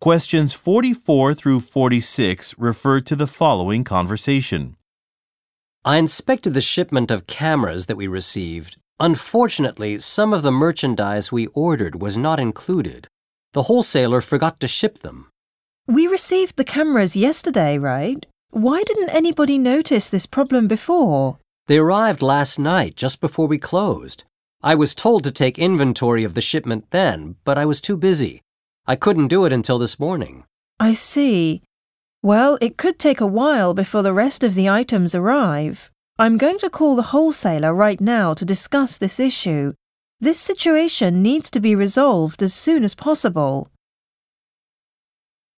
Questions 44 through 46 refer to the following conversation. I inspected the shipment of cameras that we received. Unfortunately, some of the merchandise we ordered was not included. The wholesaler forgot to ship them. We received the cameras yesterday, right? Why didn't anybody notice this problem before? They arrived last night, just before we closed. I was told to take inventory of the shipment then, but I was too busy. I couldn't do it until this morning. I see. Well, it could take a while before the rest of the items arrive. I'm going to call the wholesaler right now to discuss this issue. This situation needs to be resolved as soon as possible.